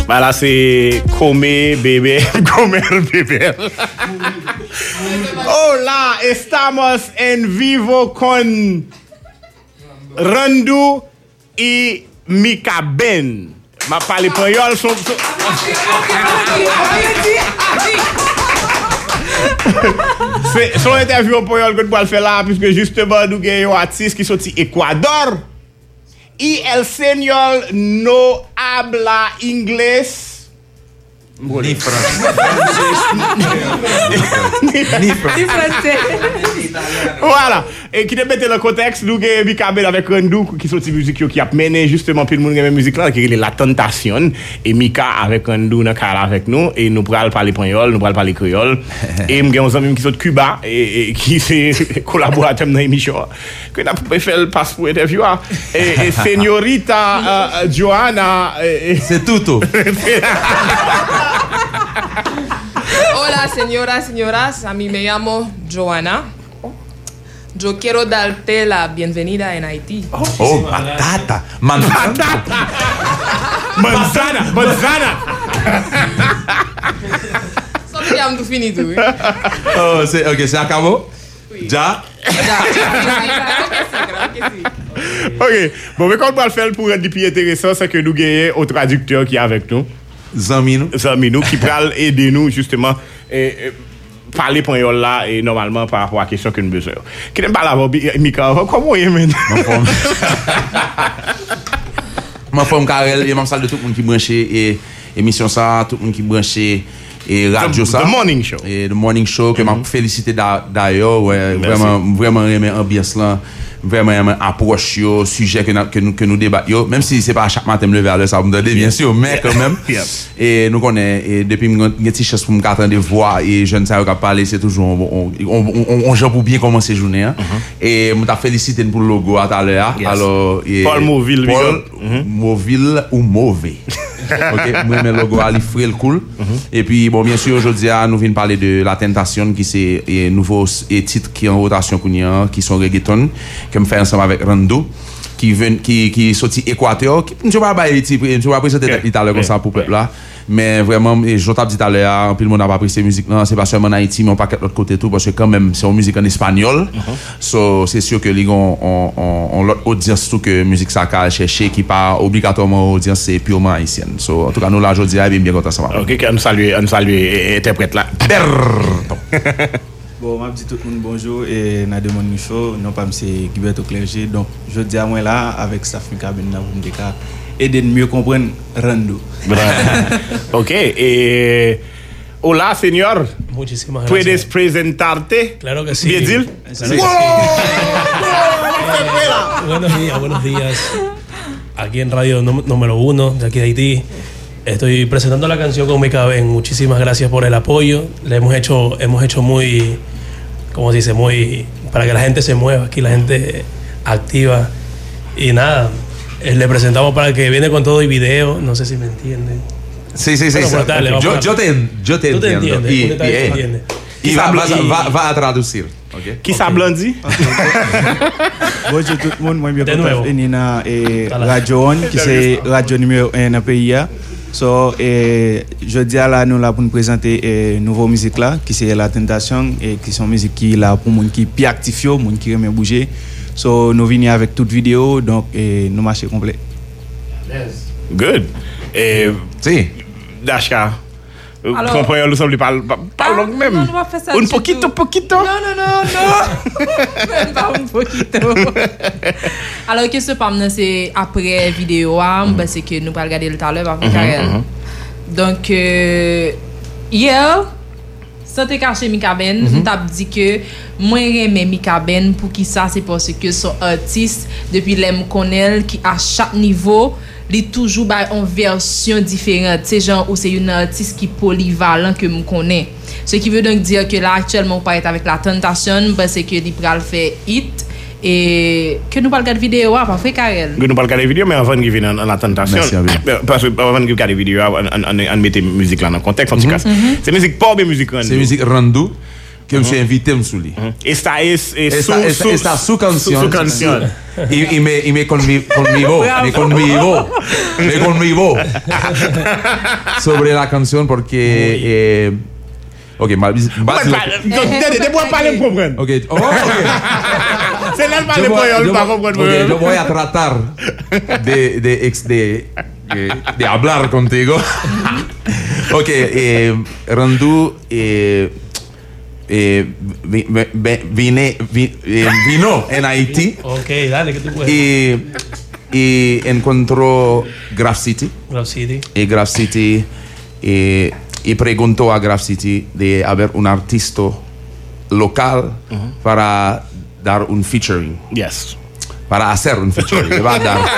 Voilà, c'est Come Bebé, Comer Bebé. Hola, estamos en vivo con Randu y Mikaben. Ma parle créole son interview en créole que nous faire là puisque justement nous avons un artiste qui sorti Équador. Y el señor no habla inglés. Ni français. Ni français. Voilà. Et qui te mette le contexte, nous avons Mikaben avec Randu qui sorti musique qui a mené justement puis le monde qui musique là qui est La Tentation et Mika avec Randu dans car avec nous et nous pral parler espagnol, nous pral parler créole et nous avons un ami qui sont de Cuba et qui c'est collaborateur dans l'émission que n'a pas fait le passe pour interview et señorita Johanna c'est tout. Hola, señoras, a mí me llamo Johanna. Yo quiero darte la bienvenida en Haití. Oh, batata. Manzana. Sorry, tout fini tout. Oh, c'est acabó? Oui. Ya? OK. Bon, mais quand on va le faire pour être plus intéressant, c'est que nous gagnons au traducteur qui est avec nous. Zaminou qui pourra aider nous justement parler pour là et normalement par rapport à la question que nous besoin. Qui n'aime pas la Mika, comment il est maintenant? Ma femme Karel et ma salle de tout le monde qui branché et émission ça, tout le monde qui branché et radio ça. The Morning Show. Et The Morning Show que m'a félicité d'ailleurs, ouais, vraiment aimé ambiance là. Vraiment approche yo sujet que nous débattons même si c'est pas à chaque matin me lever à l'heure ça vous donne bien sûr mais quand même et nous connaît et depuis une petite chance pour me attendre voir et jeune ça qui parler c'est toujours on joue pour bien commencer journée hein? Et me t'a félicité pour le logo à tout à l'heure alors Paul Mauville Mauville ou mauvais. OK, moi mes logo à l'ifrer le cool et puis bon bien sûr aujourd'hui nous venons parler de La Tentation qui c'est nouveau titre qui est en rotation qui sont reggaeton que me fait ensemble avec Randu qui sorti Équateur qui ne va pas présenter tout à l'heure comme ça pour peuple là mais vraiment je t'ai dit tout à l'heure puis le monde n'a pas apprécié musique là c'est pas seulement en Haïti mais on pas de l'autre côté tout parce que quand même c'est une musique en espagnol so c'est sûr que les on l'autre audience tout que musique ça qu'a chercher qui pas obligatoirement audience c'est purement haïtienne so en tout cas nous là aujourd'hui bien content ça va. OK on salue interprète là. Bon, je dis tout le monde bonjour et dans le Morning Show, non pas c'est Gilberto Clergé. Donc, je dis à moi là, avec staff Mikaben, vous me aider de mieux comprendre Randu. OK. Et hola, señor. Muchísimas gracias. ¿Puedes presentarte? Claro que sí. Bien, Dil. Buenos días. Aquí en Radio número 1 de aquí de Haití. Estoy presentando la canción con Mikaben. Muchísimas gracias por el apoyo. Le hemos hecho muy, ¿cómo se dice? Muy para que la gente se mueva, aquí la gente activa. Y nada, le presentamos para que viene con todo y video. No sé si me entienden. Sí. Bueno, dale, yo te entiendo. Y va a traducir. Okay. Qui ça blandi? Bonjour tout le monde, moi bien content venir dans Radio On qui c'est radio numéro 1 dans le pays. So, je dis à là, nous là pour nous présenter une nouvelle musique là, qui c'est La Tentation, et qui sont musique qui là pour les gens qui sont actifs, les gens qui aiment bouger. So, nous venons avec toute vidéo, donc nous marchons complet. Good. Et si. Dashka. Comprenez nous sommes pas long même. Non, on va faire ça. Un poquito. Non. Même pas un poquito. Alors que ce pas c'est après vidéo c'est que nous pas regarder le tout à l'heure avec Karel. Donc hier sans te cacher Mikaben, t'a dit que moi j'aime Mikaben pour qui ça c'est parce que son artiste depuis l'aime connaît qui à chaque niveau il toujours en version différente c'est genre où c'est une artiste qui polyvalent que me connais ce qui veut donc dire que là actuellement on parle avec La Tentation parce que il pral faire hit et que nous pas regarder vidéo pas fait Karel que nous pas regarder vidéo mais avant de venir en La Tentation parce que avant de regarder vidéo on mettre musique là dans contexte en tout cas c'est musique pas bien musique c'est musique Randu que me invité sous lui. Esta es su canción. Su canción. Y me conmigo sobre la canción porque ok, te puedo parler comprendre. Ok. C'est normal de pas comprendre. Yo voy a tratar de hablar contigo. Ok, Randu vino en Haití. Ok, dale, que tú puedes. Y encontró Graph City. Y Graph City y preguntó a Graph City de haber un artista local para dar un featuring. Yes. Para hacer un featuring. Le va a dar.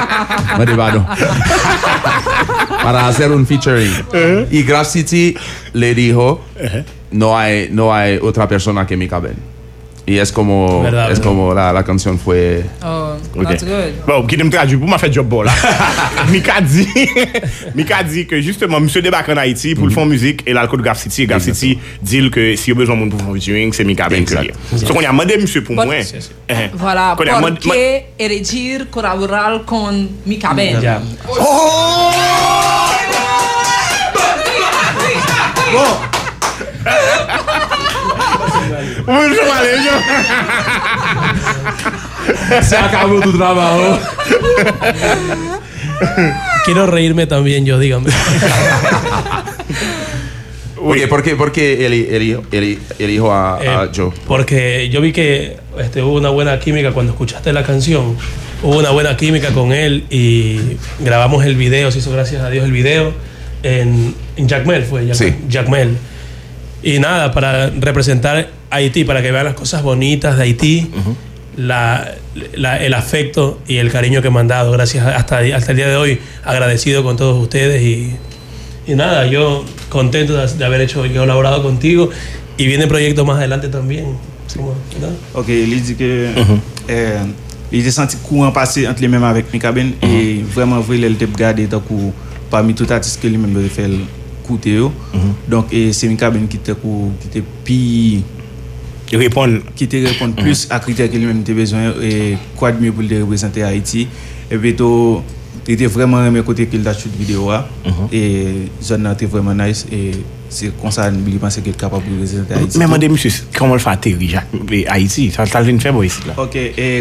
Para hacer un featuring. Y Graph City le dijo, no hay otra persona que me cabe. Y es como, como la canción fue... Oh, that's good. Bon, qui me traduit pour m'a fait job bon là. Mika dit que justement monsieur débarque en Haïti pour le faire musique et l'alcool de Graph City. Graph City dit que s'il y a besoin de monde pour faire featuring, c'est Mika Ben que lié. Donc on a demandé monsieur pour moi. Voilà, porque elegir colaborar con Mika Ben. Ya. Oh! Bon. Se acabó tu trabajo. Quiero reírme también yo, dígame. Oye, ¿por qué elijo a Joe? Porque yo vi que hubo una buena química cuando escuchaste la canción. Hubo una buena química con él y grabamos el video, se hizo gracias a Dios el video en Jacmel, Sí. Jacmel. Y nada, para representar Haití, para que vean las cosas bonitas de Haití, el afecto y el cariño que me han dado. Gracias hasta el día de hoy, agradecido con todos ustedes y nada, yo contento de haber colaborado contigo y viene proyectos más adelante también. ¿No? Ok, il dit que il a senti courant passer entre les mêmes avec Mika Ben et vraiment vrai il était regardé tant que parmi tout artiste que lui-même il fait écouter donc c'est Mika Ben qui était puis qui te répond plus à critères que lui-même était besoin et quoi de mieux pour le représenter Haïti et puis il était vraiment aimé côté qu'il a shoot vidéo et zone était vraiment nice et c'est comme ça il pensait qu'il est capable de représenter Haïti. Mais madame monsieur comment le fait atterrir Haïti ça vient faire ici là. OK et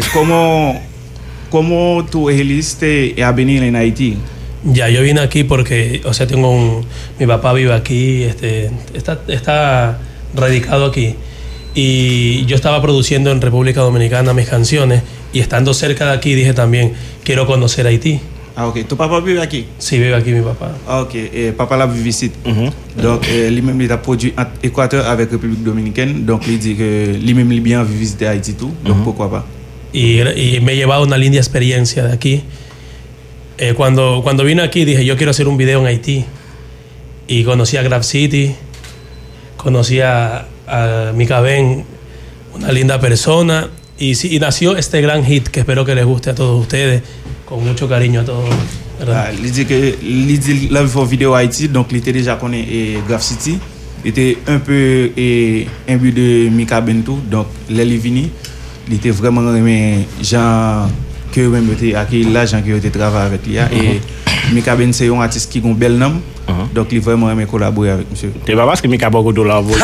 cómo tú elegiste a venir en Haití? Ya, yo vine aquí porque, o sea, mi papá vive aquí, está radicado aquí. Y yo estaba produciendo en República Dominicana mis canciones y estando cerca de aquí dije también, quiero conocer Haití. Ah, ok. ¿Tu papá vive aquí? Sí, vive aquí mi papá. Ah, ok. Papa là vive ici. Donc, lui-même, il a produit en Équateur avec République Dominicaine. Donc, il dit que lui-même, il bien envie visiter Haïti tout. Donc, pourquoi pas? Y me he llevado una linda experiencia de aquí. Cuando vine aquí dije, yo quiero hacer un video en Haití. Y conocí a Graph City, conocí a Mika Ben, una linda persona. Y nació este gran hit que espero que les guste a todos ustedes. Con mucho cariño a todos, ¿verdad? Il dit que il a fait une vidéo à Haïti, donc il était déjà connu Graph City. Il était un peu imbu de Mika Ben tout, donc il est venu. Il était vraiment aimé gens que même était accueilli là, gens qui ont travaillé avec lui. Et Mika Ben c'est un artiste qui a un bel nom, donc il vraiment aimé collaborer avec monsieur. C'est pas parce que Mika beaucoup de la voix.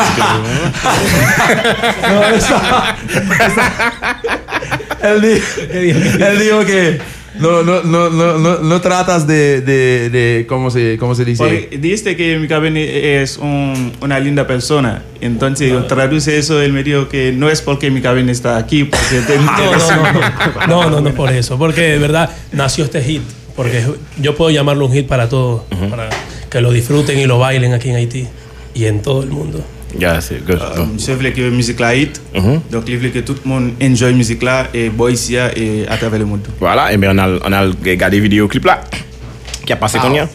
Él dijo que no tratas de ¿cómo se dice? Porque dijiste que Mika Ben es una linda persona, entonces traduce eso, él me dijo que no es porque Mika Ben está aquí, porque no por eso, porque de verdad nació este hit, porque yo puedo llamarlo un hit para todos, para que lo disfruten y lo bailen aquí en Haití y en todo el mundo. Yeah, c'est good. Je voulais que la musique là hit. Donc, je voulais que tout le monde enjoy la musique là et boy ici et à travers le monde. Voilà, et bien on a regardé vidéo clip là qui a passé combien?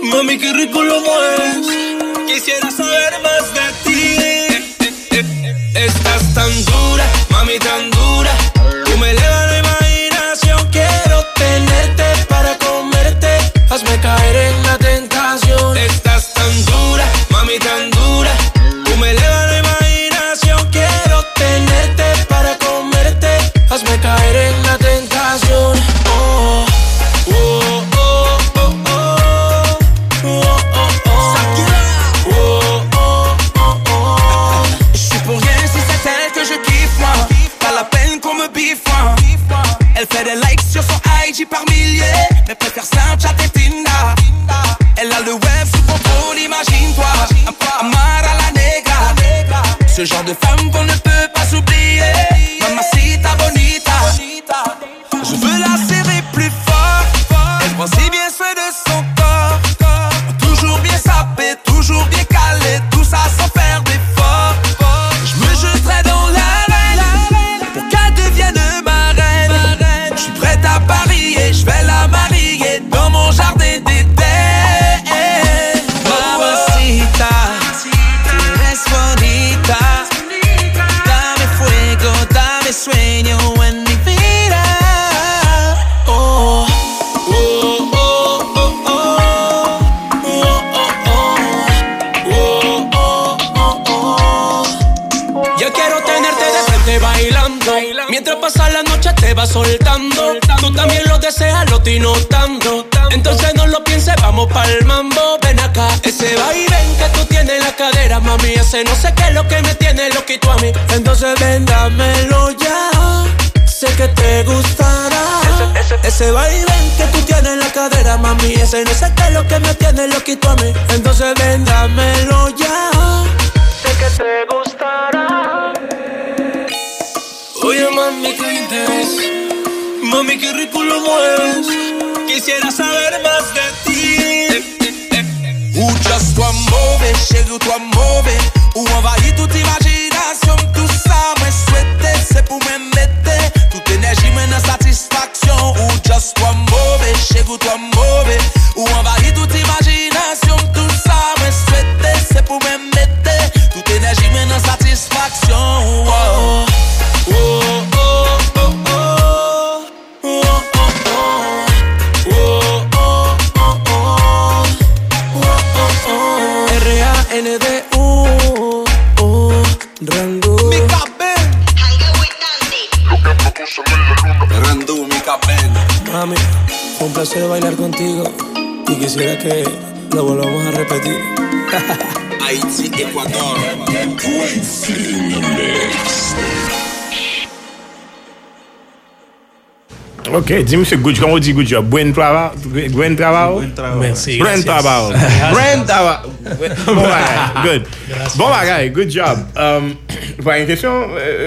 Mami, qué rico lo mueves. Quisiera saber más de ti. Estás tan dura, mami, tan dura. Tú me elevas la imaginación. Quiero tenerte para comerte. Hazme caer en la tentación. Estás tan dura, mami, tan dura. Tú me elevas la imaginación. Quiero tenerte para comerte. Hazme caer en la tentación. Oh, oh, oh, oh, oh. Elle fait des likes sur son IG par milliers, mais préfère Snapchat et Tinder. Elle a le web sous contrôle, imagine-toi. Amar à la negra. Ce genre de femme qu'on ne peut pas oublier. Mamacita bonita. Je veux la serrer plus fort. Elle prend si bien soin de son corps. Toujours bien sapé, toujours bien calé. Tout ça sans faire d'effort. Je me jetterai dans l'arène pour qu'elle devienne ma reine. Je suis prête à parier, je vais la marier dans mon jardin d'été. Mamacita, tu eres bonita. Dame fuego, dame sueño en mi vida. Oh, oh, oh, oh, oh. Oh, oh, oh, oh. Yo quiero tenerte de frente bailando. Mientras pasa la noche te va soltando. Tú también lo deseas, lo estoy notando. Entonces no lo pienses, vamos pa'l mambo. Ven acá, ese vaivén que tú tienes en la cadera, mami. Ese no sé qué es lo que me tiene loquito a mí. Entonces ven, dámelo ya. Sé que te gustará. Ese vaivén que tú tienes en la cadera, mami. Ese no sé qué es lo que me tiene loquito a mí. Entonces ven, dámelo ya. Sé que te gustará. Oye, mami, qué interés. Mami, qué rico lo mueves. Quisiera saber más de ti. Ou just toi mauvais, chérie, toi mauvais. Ou envahit toute imagination. Tout ça, moi souhaité, c'est pour me mettre. Toute énergie, mais dans satisfaction. Ou just toi mauvais, chérie, toi mauvais. Ou envahit toute imagination. Tout ça, moi souhaité, c'est pour me mettre. Toute énergie, mais dans satisfaction. Oh. Oh, oh, oh, oh. Oh, oh, oh. Oh, oh, oh, oh. Oh, oh. R-A-N-D-U. Oh, Randu. Mika Ben. Randu, Mika Ben. Mami, fue un placer bailar contigo. Y quisiera que lo volvamos a repetir. Haití, Ecuador. Ok, dis monsieur good, comment on dit good job? Buen trabajo? Merci. Buen trabajo. Buen trabajo. Bon bagay, good. Bon bagay, good job. Pas une question?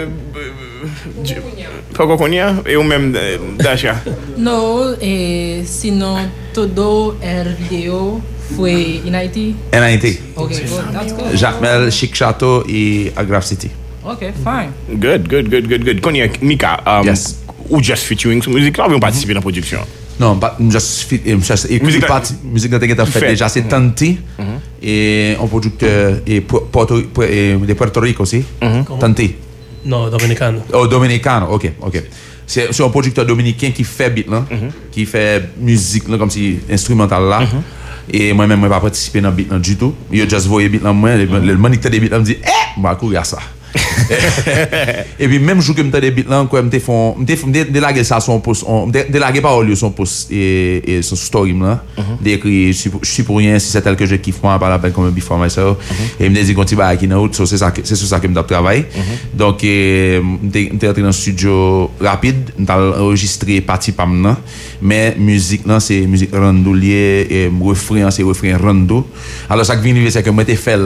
Faut qu'on y a? Et ou même Dasha? No, sino todo el video fue en Haiti. En Haiti. Okay, good. That's good. Jacmel, Chic Chateau et Agrave City. Okay, fine. Good. Qu'on y a, Mika, Yes. ou just featuring sur musique là, ou on participe dans la production? Non, just Musique musique dans fait déjà, c'est Tanti et un producteur et de Puerto Rico aussi. Tanti. No, dominicano. Oh, dominicano, ok. C'est un producteur dominicain qui fait beat là, qui fait musique là, comme si instrumental là. Et moi-même, je n'ai pas participé dans le beat là du tout. Je juste voyé le beat là, moi, le moniteur des beats là me dit, je vais courir à ça. Et puis même jour que me des beats là quoi me délaguer ça son post délaguer pas au lieu son post et son story là d'écrit je suis pour rien si c'est tel que je kiffe moi par la peine comme un before myself et me dit continue à qui dans c'est sur ça que me travaille donc m'était entré dans le studio rapide m't'a enregistré partie pam là mais musique là c'est musique randoulier et refrain c'est refrain rando alors ça qui vient c'est que moi t'ai fait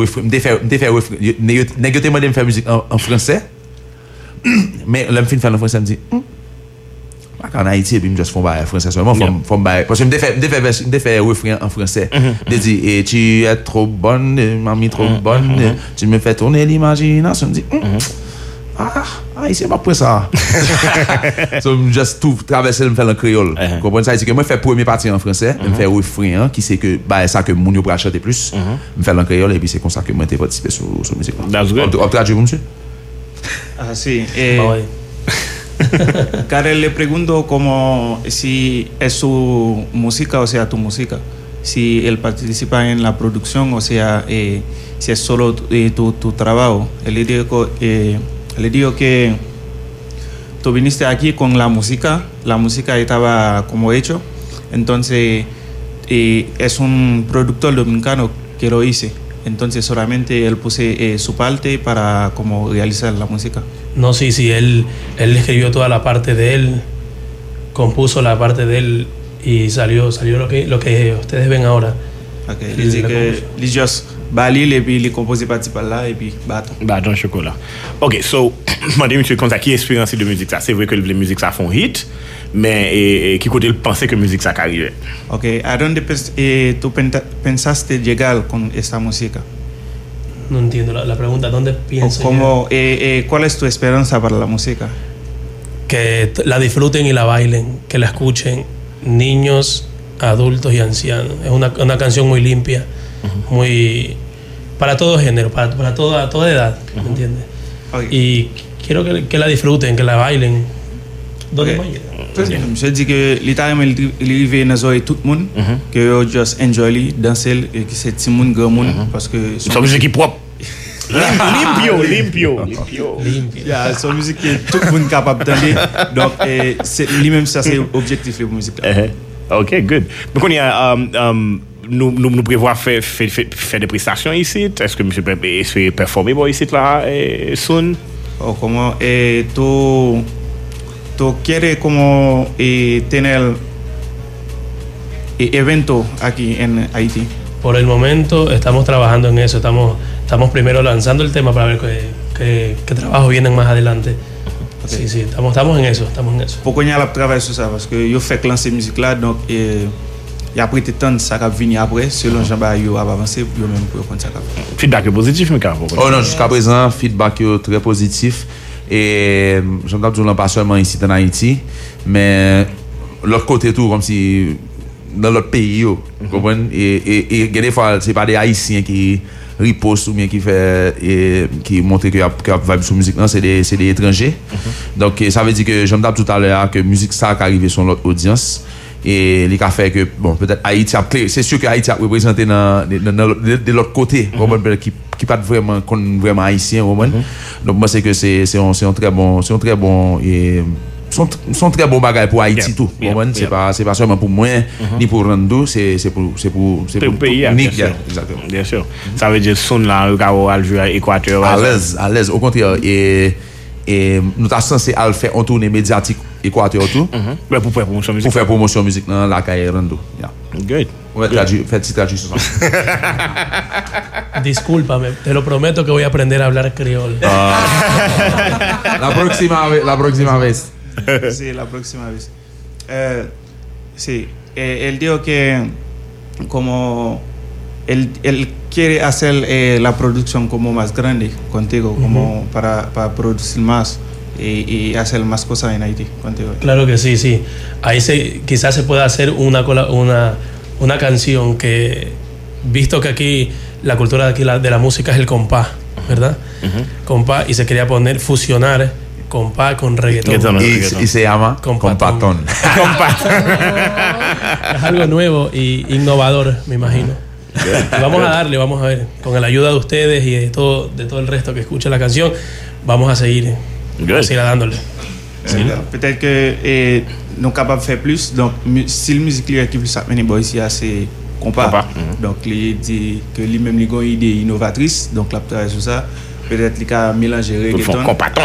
négocier de faire musique en français mais l'homme fin faire en français me dit en Haïti et puis je fais en français seulement parce que me fait refrain en français de dire et tu es trop bonne mamie trop bonne tu me fais tourner l'imagination me dit Haïtien pas pour ça. So just tout traverser me faire en créole. Comprendre ça, c'est que moi faire première partie en français, me faire refrain qui c'est que bah ça que moun yo pour chanter plus, me faire en créole et puis c'est comme ça que moi t'ai participé sur musique. That's good. On traduit monsieur? Ah, sí. Karel, le pregunto como si es su música o sea tu música. Si él participa en la producción o sea si es solo tu trabajo. Él le digo que tú viniste aquí con la música estaba como hecho, entonces es un productor dominicano que lo hice. Entonces solamente él puse su parte para como realizar la música. No, sí, él escribió toda la parte de él, compuso la parte de él y salió lo que ustedes ven ahora. Ok, il dit que il just balil et puis il compose partie par là et puis bâton. Bâton chocolat. Ok, so, madame monsieur comme ça, qui expérience de musique ça? C'est vrai que la musique ça font hit, mais qui côté il pensait que musique ça arrivait? Ok, ¿a dónde tú pensaste llegar con esta música? No entiendo la pregunta, ¿dónde pienso? ¿Cuál es tu esperanza para la música? Que la disfruten y la bailen, que la escuchen niños, adultos y ancianos. Es una canción muy limpia, muy para todo género, para toda edad, ¿me entiendes? Okay. Y quiero que la disfruten, que la bailen. ¿Dónde okay. Je dis que littéralement il arrive dans oreille tout le monde que yo just enjoy li danser et que c'est petit monde grand monde parce que son musique est propre. Limpio. Yeah, son musique est tout le monde capable d'entendre. Donc c'est lui-même ça c'est objectif de musique là. OK, good. Donc on y a nous prévoit faire des prestations ici. Est-ce que monsieur peut performer ici là soon? O como tú quieres como tener evento aquí en Haití? Por el momento estamos trabajando en eso. Estamos primero lanzando el tema para ver qué trabajos vienen más adelante. Okay. Sí, estamos en eso. Pourquoi on a travaillé sur ça? Parce que yo fait lancer musique là, donc il y a pris temps ça va venir après selon Jean-Ba yo va avancer yo même pour prendre ça. Feedback positif mais quand oh non, jusqu'à présent feedback très positif. Et j'entends toujours pas seulement ici en Haïti, mais l'autre côté tout comme si dans l'autre pays, vous comprenez? Et des fois c'est pas des Haïtiens qui ripostent ou bien qui montrent que vibe sur musique, non, c'est des étrangers. Donc ça veut dire que j'entends tout à l'heure que musique ça qui arrive sur l'autre audience. Et les fait que bon peut-être Haïti a c'est sûr que Haïti a représenté de l'autre côté qui pas vraiment haïtien donc moi c'est que c'est un très bon et sont très bon bagage pour Haïti tout c'est pas seulement pour moi ni pour Rando c'est pour le pays exactement bien sûr ça veut dire son là al jouer à Équateur à l'aise au contraire et nous sommes censés faire un tournée médiatique Équateur tout pour faire promotion musique dans la caille Rando. Good. Traducción. Discúlpame, te lo prometo que voy a aprender a hablar criol. La próxima vez. Sí, la próxima vez. Sí, él dijo que como él quiere hacer la producción como más grande contigo, como para producir más y hacer más cosas en Haití contigo. Claro que sí. Ahí quizás se pueda hacer una canción que, visto que aquí la cultura de aquí de la música es el compás, ¿verdad? Compás, y se quería fusionar compás con reggaetón. Y se llama Compatón. Es algo nuevo y innovador, me imagino. Y vamos a ver, con la ayuda de ustedes y de todo el resto que escucha la canción, vamos a seguir dándole. Sí. Peut-être que nous sommes capables de faire plus. Donc, si la musique qui plus amener ici, c'est compas. Donc, il dit que lui-même il a une idée innovatrice. Donc, il a travaillé sur ça. Peut-être qu'il a mélangé reggaeton. Compatón.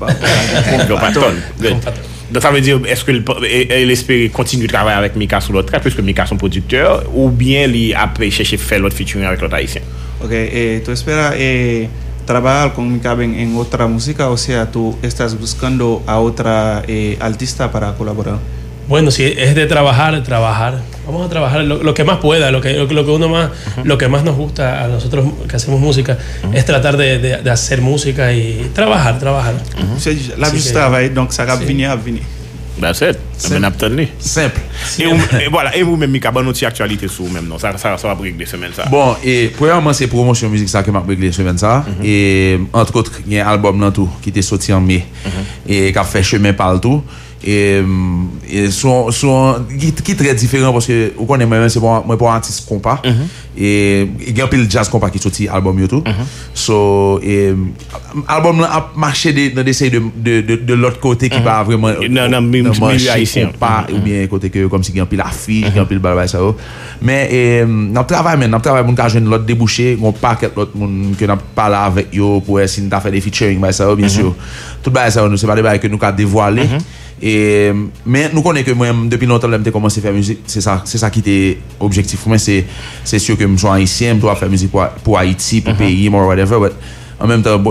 Donc, ça veut dire, est-ce qu'il espère continuer de travailler avec Mika sur l'autre track, puisque Mika son producteur, ou bien il a cherché faire l'autre featuring avec l'autre haïtien? Ok, tu esperas trabajar con Mika en otra música, o sea, tú estás buscando a otra artista para colaborar? Bueno, si es de trabajar, vamos a trabajar lo que más pueda, lo que uno más, lo que más nos gusta a nosotros que hacemos música, es tratar de hacer música y trabajar. La vie, travail, donc ça va venir. That's it. Simple. Et voilà, et vous-même, Mika, bonne autre actualité sur vous-même, non? Ça va briquer des semaines, ça. Bon, et premièrement, c'est promotion musique ça que m'a briqué des semaines, ça. Et entre autres, il y a un album là tout qui était sorti en mai et qui a fait chemin par le tout. Et sont qui est très différent parce que vous connaissez moi c'est moi pour artiste compas et il y a un peu le jazz compas qui sorti album yo tout so album a marché dans d'essayer de l'autre côté qui pas vraiment non milieu haïtien pas ou bien côté que comme si il y a un peu l'affiche il y a un peu le balbal ça mais n'a travail mon ka joindre l'autre débouché on paquet l'autre monde que n'a parlé avec yo pour essayer de faire des featuring ça bien sûr tout bail ça c'est pas des bail que nous ka dévoiler. Et mais nous connaissons que moi depuis longtemps j'ai commencé à faire musique, c'est ça qui était objectif pour moi, c'est sûr que je suis haïtien, je dois faire musique pour Haïti, pour pays, or whatever, but en même temps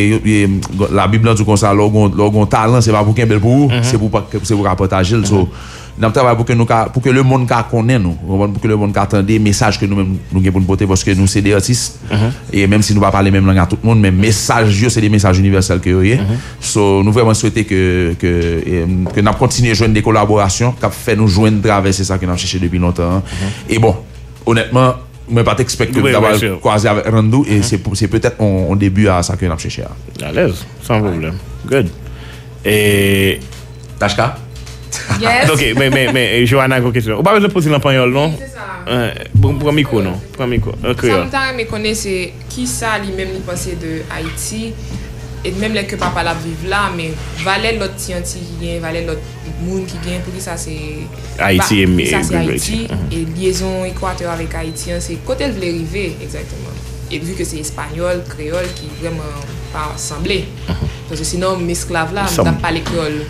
la Bible dit comme ça leur talent c'est pas pour qu'un bel pour c'est pour partager so nous travaillons pour que le monde connaisse nous, pour que le monde entende des messages que nous-mêmes nous avons pour porter parce que nous c'est des artistes et même si nous ne parlons pas les mêmes langues à tout le monde mais messages c'est des messages universels que so nous vraiment souhaiter que nous continuions à joindre des collaborations qui fait nous joindre traverser ça que nous avons cherché depuis longtemps et bon honnêtement je ne pas expecter d'avoir croisé avec Randou et c'est peut-être un début à ça que nous avons cherché à l'aise sans problème good et Tashka. Yes. Ok, mais Johanna, une question. Vous pas besoin de poser l'empanol, non? C'est ça. Pour un micro, non? Pour un micro. Sometimes, je connais qui ça lui-même il pensait de Haïti. Et même les que papa la vive là, mais valait l'autre scientifique qui vient, valait l'autre monde qui vient. Pour qui ça c'est Haïti et ça c'est Haïti. Et liaison Équateur avec Haïtien, c'est côté le arriver exactement. Et vu que c'est espagnol, créole qui vraiment pas assemblé. Parce que sinon, mes esclaves là, on n'a pas l'école.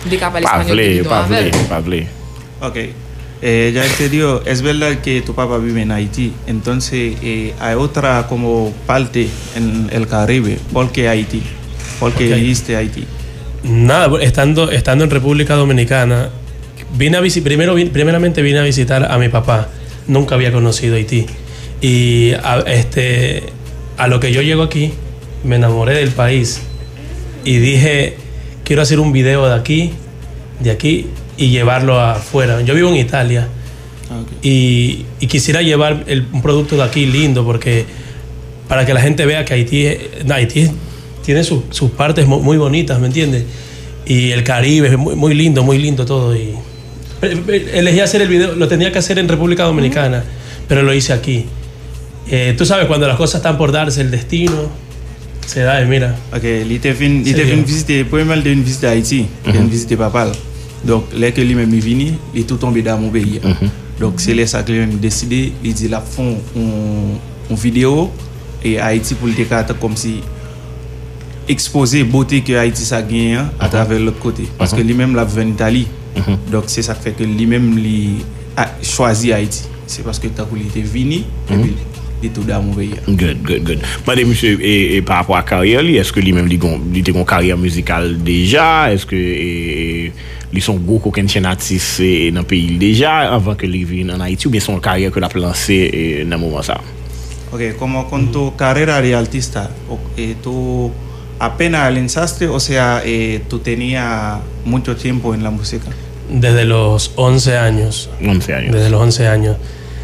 Pavle. Ok. Ya te digo, es verdad que tu papá vive en Haití, entonces hay otra como parte en el Caribe. ¿Por qué Haití? ¿Por qué dijiste Haití? Nada, estando en República Dominicana, primeramente vine a visitar a mi papá. Nunca había conocido Haití. Y a lo que yo llego aquí, me enamoré del país y dije, quiero hacer un video de aquí y llevarlo afuera. Yo vivo en Italia y quisiera llevar un producto de aquí lindo porque para que la gente vea que Haití tiene sus partes muy bonitas, ¿me entiendes? Y el Caribe es muy lindo todo. Y elegí hacer el video, lo tenía que hacer en República Dominicana, pero lo hice aquí. Tú sabes, cuando las cosas están por darse, el destino se da, mira. Ok, il était venu visiter, premièrement, il est venu visiter Haïti, il est venu visiter papa. Donc, là que lui-même est venu, il est tout tombé dans mon pays. Donc, c'est là ça que lui-même décidé, il dit, là, font une vidéo, et Haïti pour le décart comme si exposer beauté que Haïti ça gagne à travers l'autre côté. Parce que lui-même, là, vient d'Italie. Donc, c'est ça qui fait que lui-même, il a choisi Haïti. C'est parce que il était venu, et puis, et tout dans mon pays. Good. Madame, monsieur, et par rapport à la carrière, est-ce que lui-même, il a une carrière musicale déjà? Est-ce que ils sont gros qu'aucun chaîne artiste dans le pays déjà, avant que il vienne en Haïti, ou bien son carrière que l'a lancé dans le moment ça? Ok, como con tu carrera de artista, tú apenas lanzaste, o sea, tú tenías mucho tiempo en la música? Desde los 11 años. 11 años. Desde los 11 años.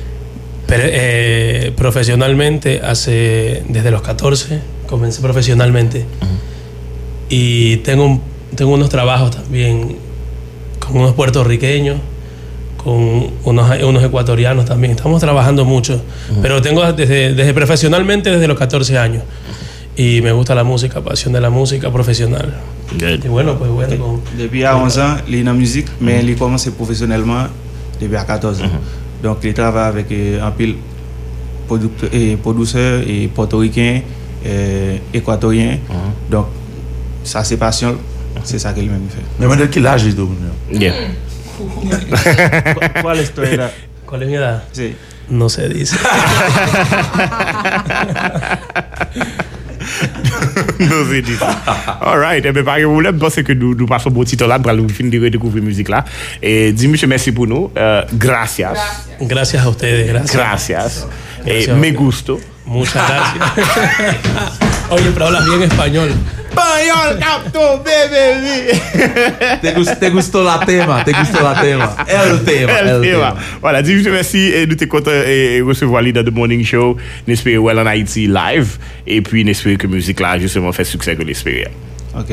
Pero, profesionalmente, desde los 14 comencé profesionalmente. Y tengo unos trabajos también con unos puertorriqueños, con unos ecuatorianos también. Estamos trabajando mucho. Pero tengo desde profesionalmente desde los 14 años. Y me gusta la música, pasión de la música profesional. Good. Y bueno, pues bueno. Depuis à 11 ans, il est dans la musique, mais il commence professionnellement depuis à 14 ans. Donc, il travaille avec un pile producteurs et portoricains, équatoriens. Donc, ça, c'est passion. C'est ça qu'il même fait. Mais de quel âge est-ce Yeah. ¿Cuál es tu edad? ¿Cuál es mi edad? Sí. No se dice. Non, c'est dit ça. All right. Eh bien, par exemple, je pense que nous passons bon petit temps là pour nous finir de redécouvrir la musique là. Et dis, monsieur, merci pour nous. Gracias. Gracias a ustedes, gracias. Gracias. Me gusto. Muchas gracias. Oye, pero hablas bien español. Español, capto, bébé. Te gustó la tema. El tema. Voilà, dis, merci. Et nous t'es content de recevoir l'idée de Morning Show. N'espérons well en Haïti live. Et puis, n'espérons que la musique là, justement, fait succès que l'espérer. Ok.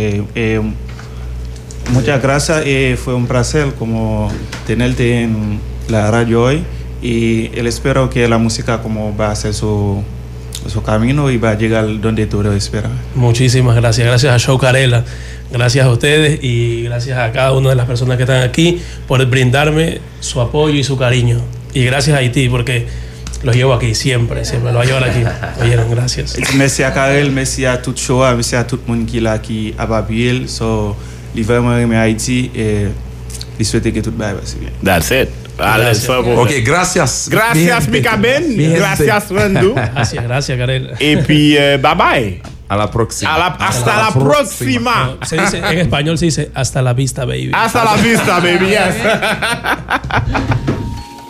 Muchas gracias. Fue un placer como tenerte en la radio hoy. Y espero que la música como va a hacer su camino y va a llegar donde tú lo esperas. Muchísimas gracias. Gracias a Show Carela. Gracias a ustedes y gracias a cada una de las personas que están aquí por brindarme su apoyo y su cariño. Y gracias a Haití porque los llevo aquí siempre los voy a llevar aquí. Oyeron, gracias. Merci à Karel, merci à tout show, merci à tout le monde qui est là, qui a appuyé. So, il vraiment aimé Haïti et il souhaite que tout va bien. That's it. Ok, gracias. Gracias, Mika Ben. Gracias, Randu. Gracias, Karel. Et puis, bye bye. A la próxima. Hasta la próxima. Se dice, en español se dice hasta la vista, baby. Hasta la vista, baby, yes.